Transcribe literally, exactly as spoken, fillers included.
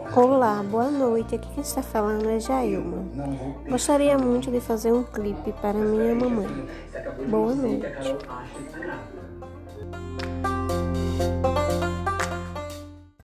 Olá, boa noite. Aqui quem está falando é Jailma. Gostaria muito de fazer um clipe para minha mamãe. Boa noite.